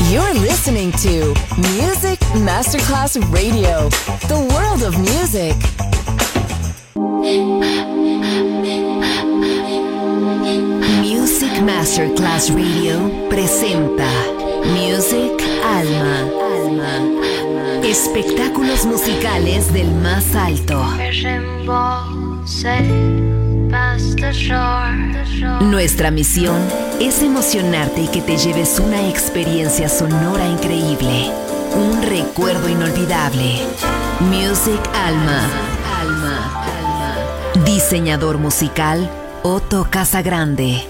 You're listening to Music Masterclass Radio, the world of music. Music Masterclass Radio presenta Music Alma. Espectáculos musicales del más alto. Nuestra misión es emocionarte y que te lleves una experiencia sonora increíble, un recuerdo inolvidable. Music Alma. Diseñador musical Otto Casagrande.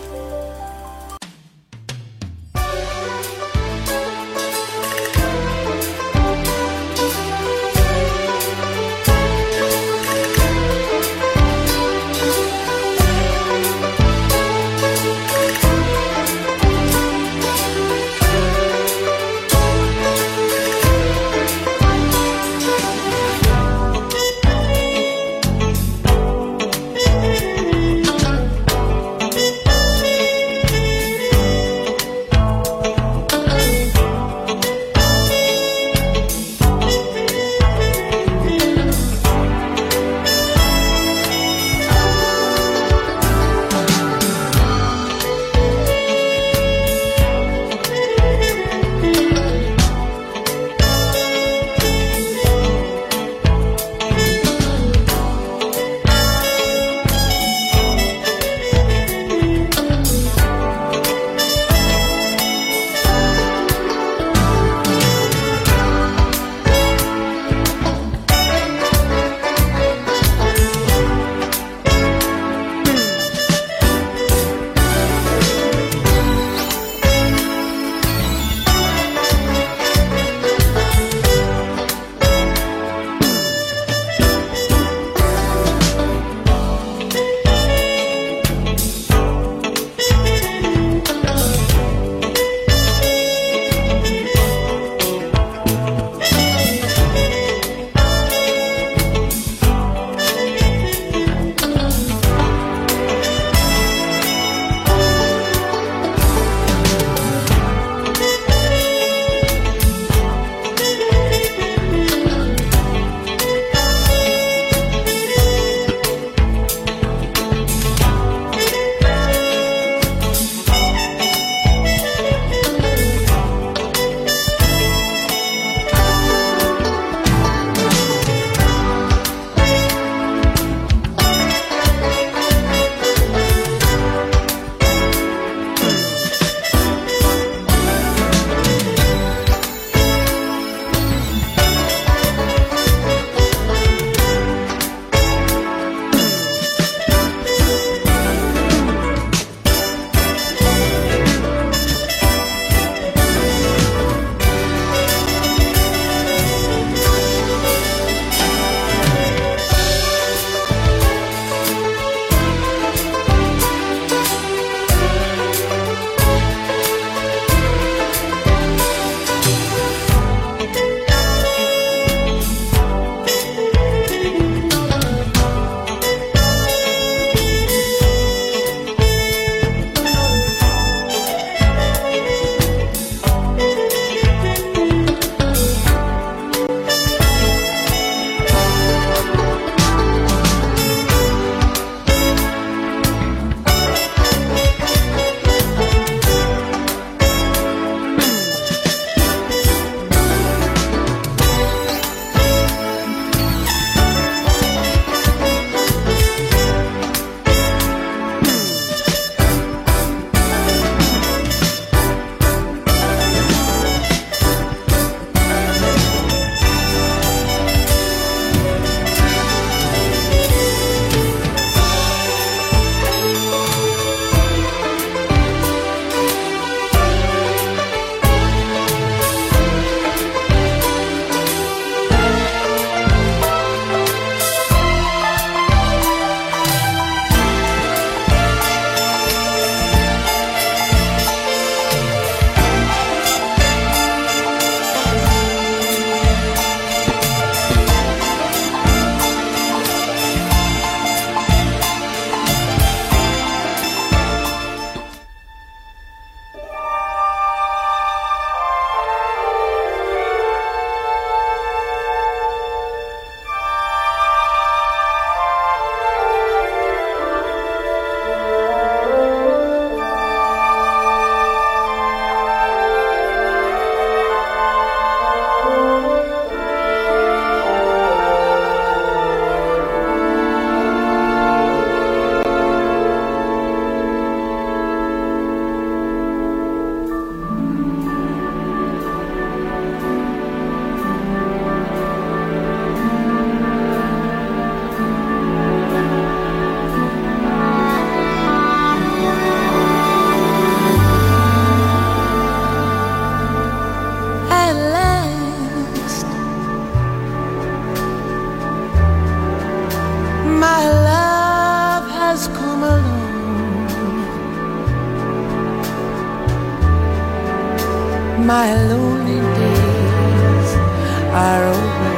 my lonely days are over,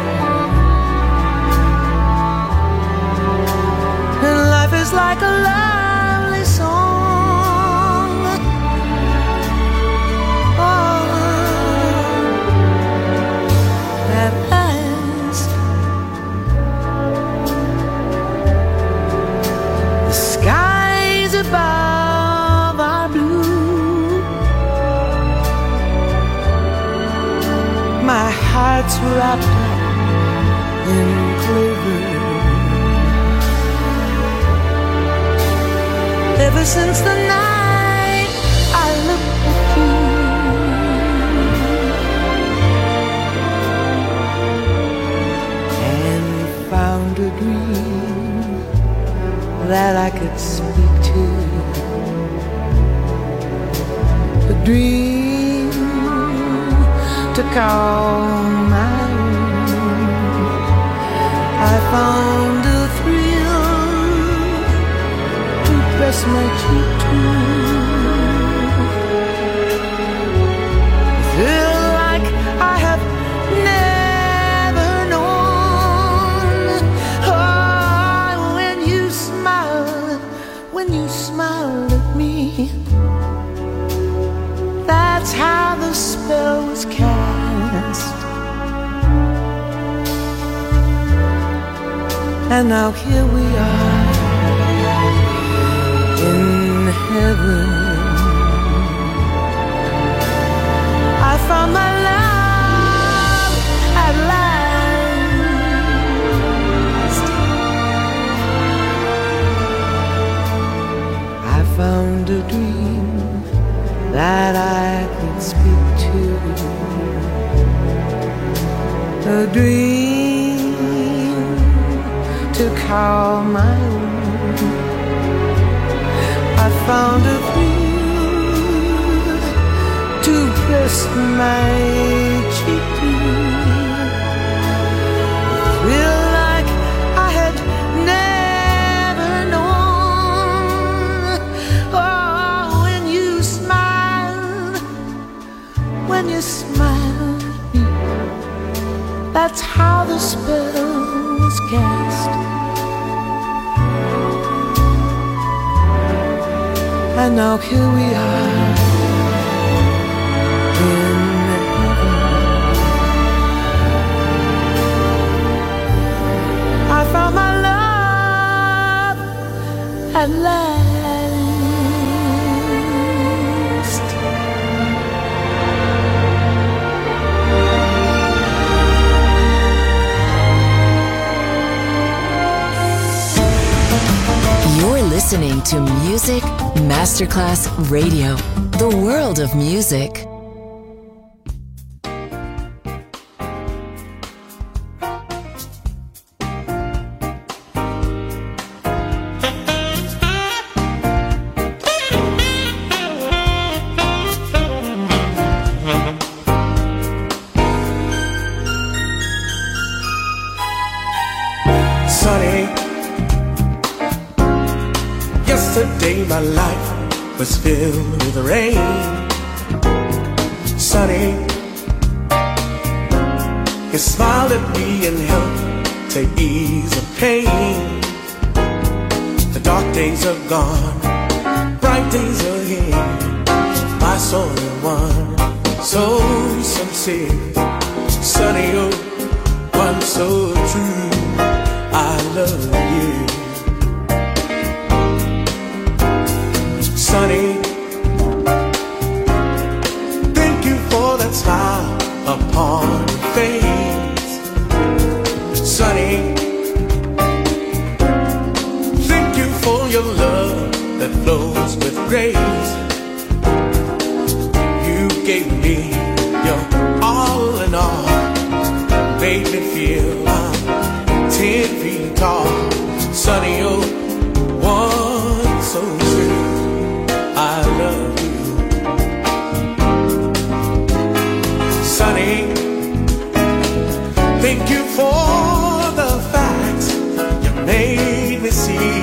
and life is like a lovely song. Oh, at last the skies above are blue, my heart's wrapped up in clover. Ever since the night I looked at you, and found a dream that I could speak to, a dream to call my own. I found a thrill to press my cheek to, feel like I have never known. Oh, when you smiled at me, that's how the spell was cast. And now here we are in heaven. I found my love at last. I found a dream that I could speak to, a dream to call my own. I found a thrill to press my cheek to, feel like I had never known. Oh, when you smiled at me, that's how the spell was cast. And now here we are in heaven. I found my love at last. You're listening to Music Masterclass Radio, the world of music. Sunny, yesterday my life was filled with rain. Sunny, you smiled at me and helped to ease the pain. The dark days are gone, bright days are here. My soul in one, so sincere. Sunny, oh, one so true. I love you. Sunny, thank you for that smile upon your face. Sunny, thank you for your love that flows with grace. You gave me your all in all, made me feel I'm 10 feet tall. Sunny, oh, one so true. I love you. Sunny, thank you for the facts you made me see.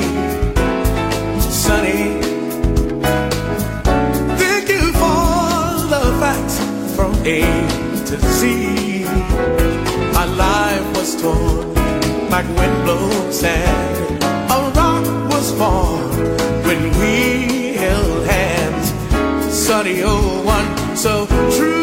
Sunny, thank you for the facts from A to Z. Our life was torn like windblown sand. A rock was formed when we held hands. Sunny old one, so true.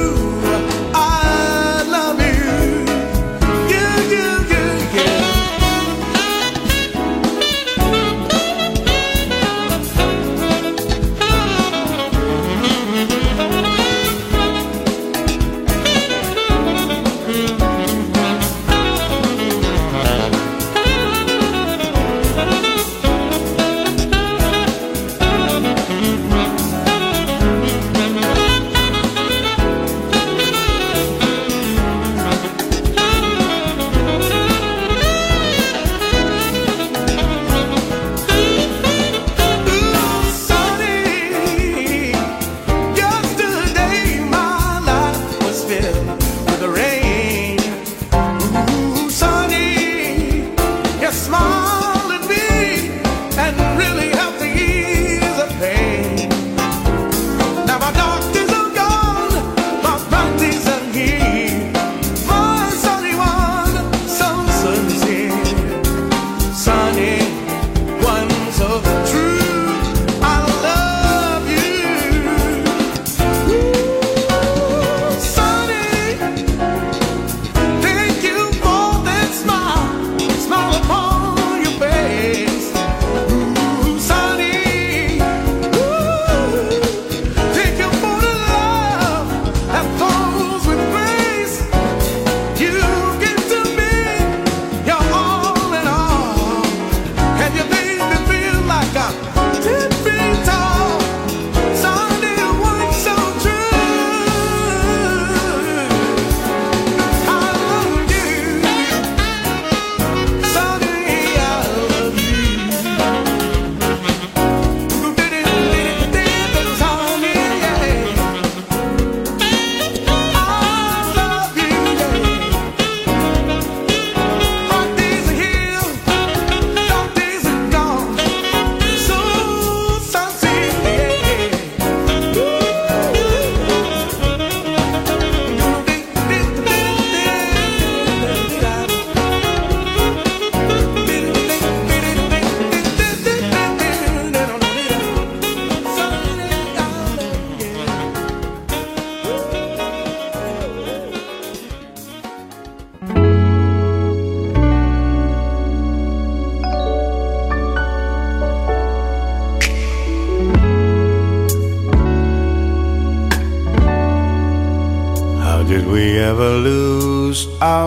Did we ever lose our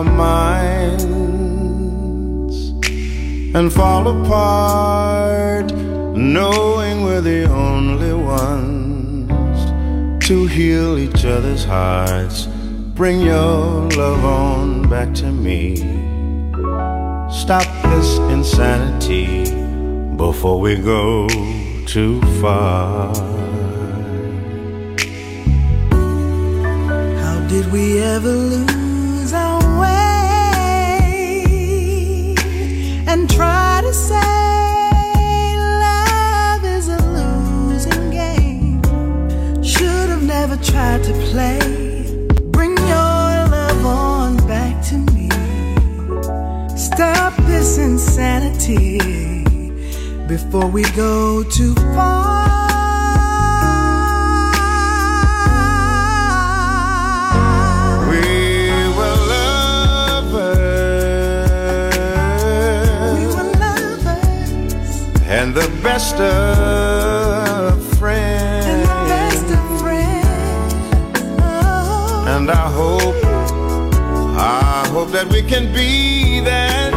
minds and fall apart, knowing we're the only ones to heal each other's hearts? Bring your love on back to me. Stop this insanity before we go too far. Did we ever lose our way and try to say love is a losing game? Should have never tried to play. Bring your love on back to me. Stop this insanity before we go too far. And the best of friends. Oh. And I hope that we can be that.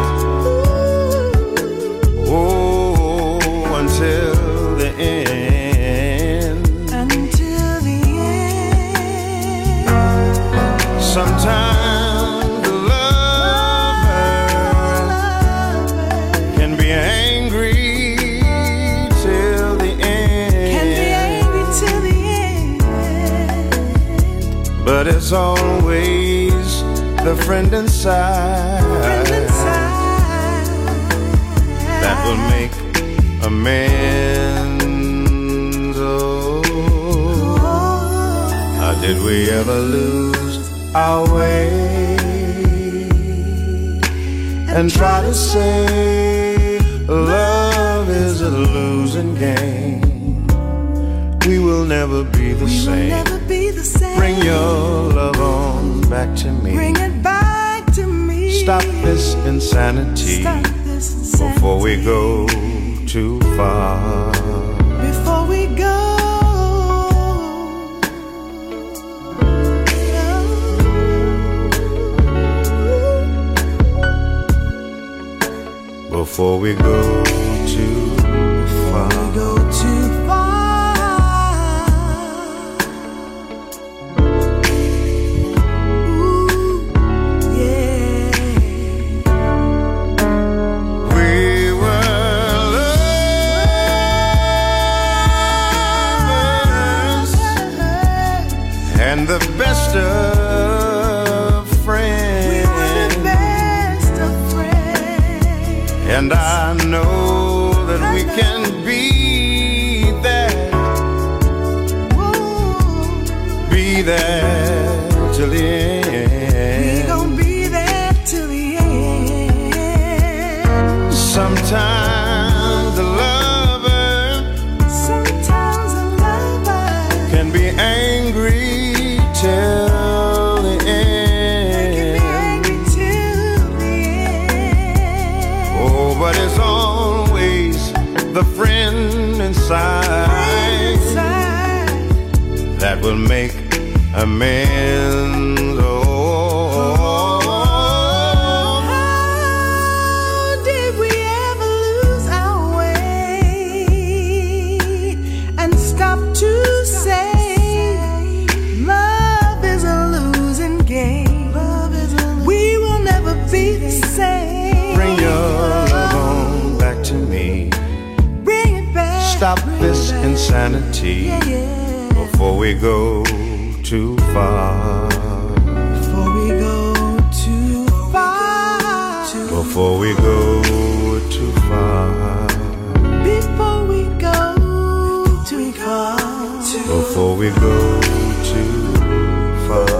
Oh, until the end. Until the end. Sometimes the lover can be angry. But it's always the friend inside that will make amends. Oh, Did we ever lose our way and try to say love is a losing game? We will never be the same. Bring your love on back to me. Bring it back to me. Stop this insanity before we go too far. Before we go. Before we go too far. Before we go too far. Ooh, yeah. We were lovers and the best of friends. We were the best of friends. And I know that we can be there. Whoa. Be there till the end. We gon' be there till the end. Sometimes a lover can be angry till the end. Oh, but it's always the friend inside that will make amends. Oh, how did we ever lose our way and stop to say love is a losing game? We will never be the same. bring your love on back to me. Bring it back. Stop this insanity before we go too far. Before we go too far. Before we go too far. Before we go too far. Before we go too far.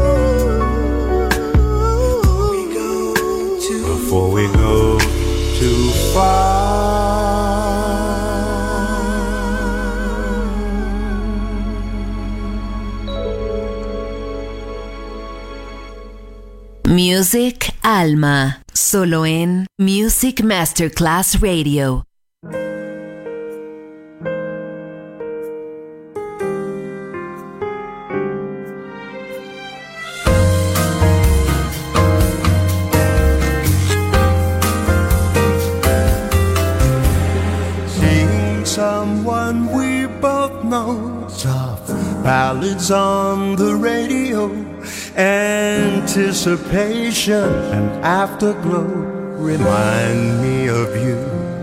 Before we go too far. Music Alma, solo en Music Masterclass Radio. Seeing someone we both know, soft ballads on the radio, anticipation and afterglow remind me of you.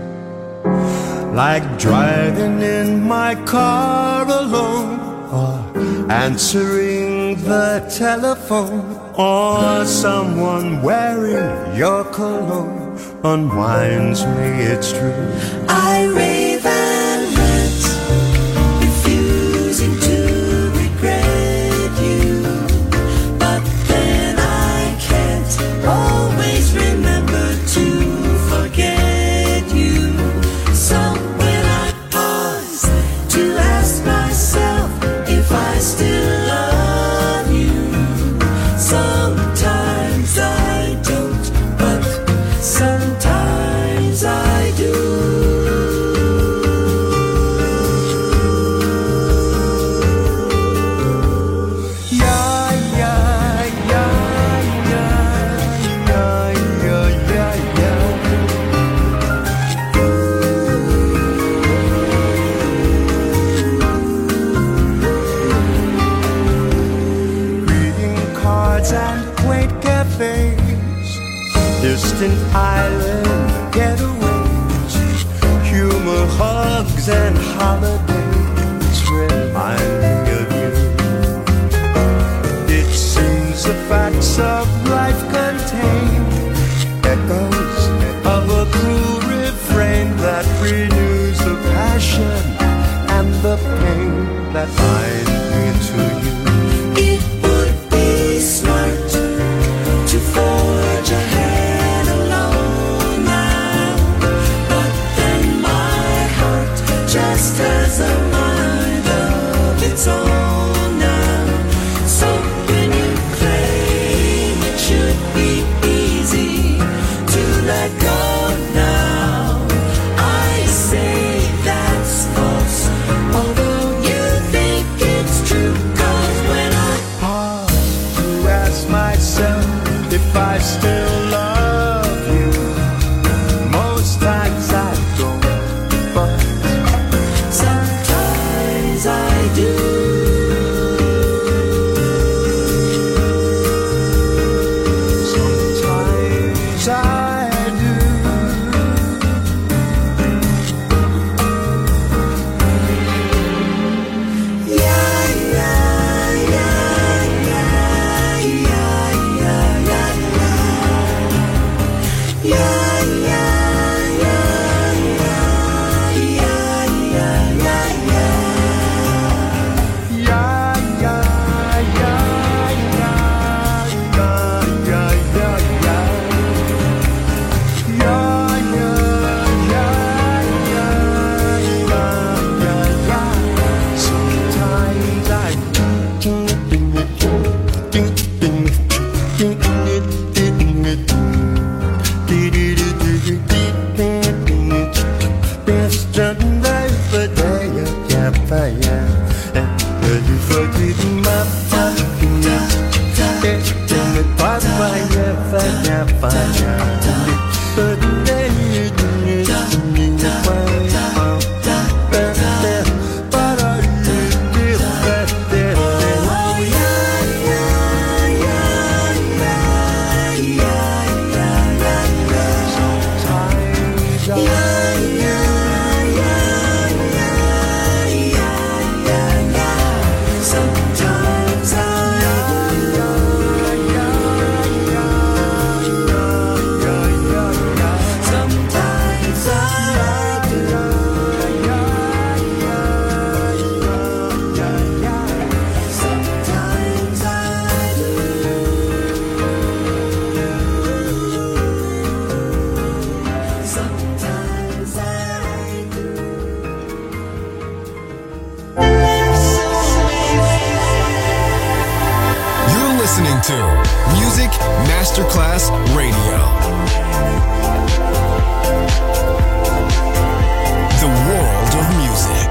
Like driving in my car alone, or answering the telephone, or someone wearing your cologne unwinds me, it's true. I rave and rant, refusing to regret you, but then I can't always remember to forget you. So when I pause to ask myself if I still love you, sometimes I don't, but sometimes I do. Yeah, yeah, yeah, yeah, yeah, yeah, yeah, yeah. Greeting cards and quaint cafes, distant island getaways, humor hugs and holidays remind me of you. It seems the facts of life contain echoes of a cruel refrain that renews the passion and the pain that bind me to you. listening to Music Masterclass Radio. The world of music.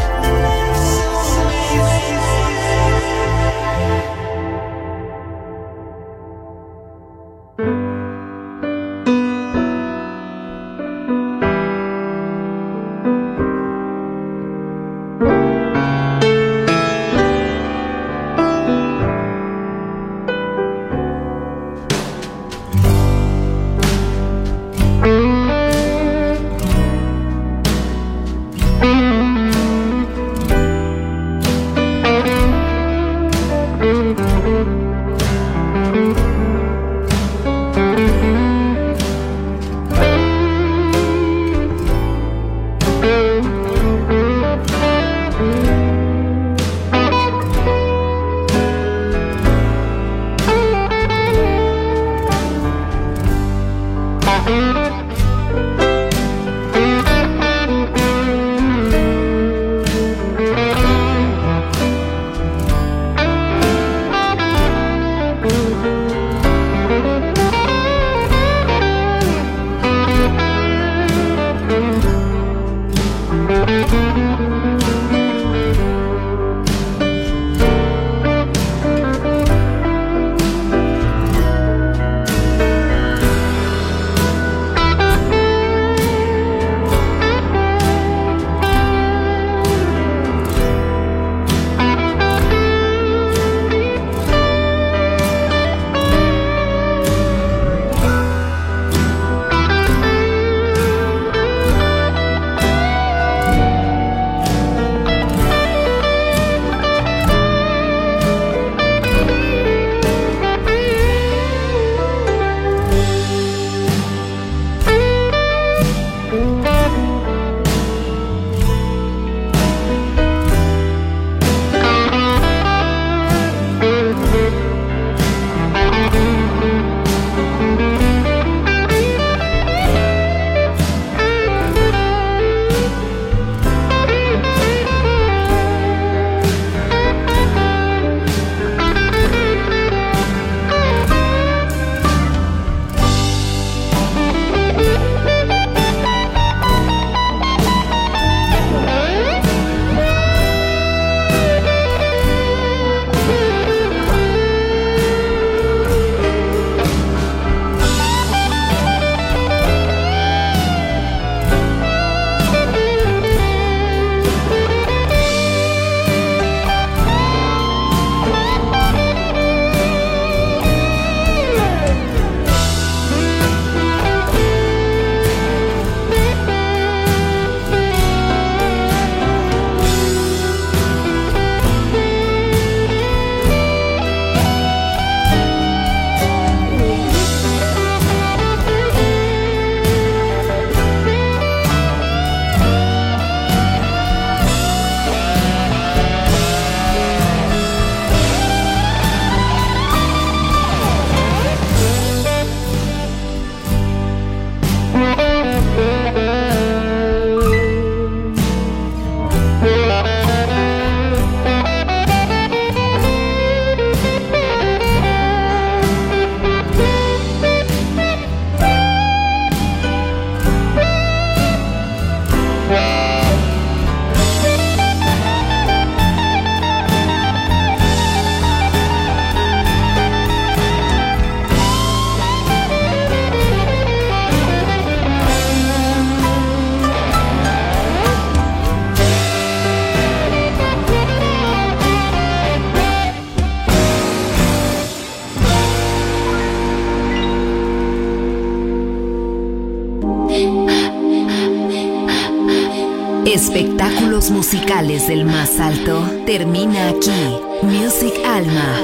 Espectáculos musicales del más alto termina aquí. Music Alma.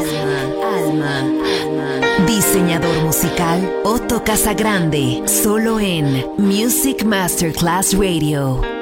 Diseñador musical Otto Casagrande, solo en Music Masterclass Radio.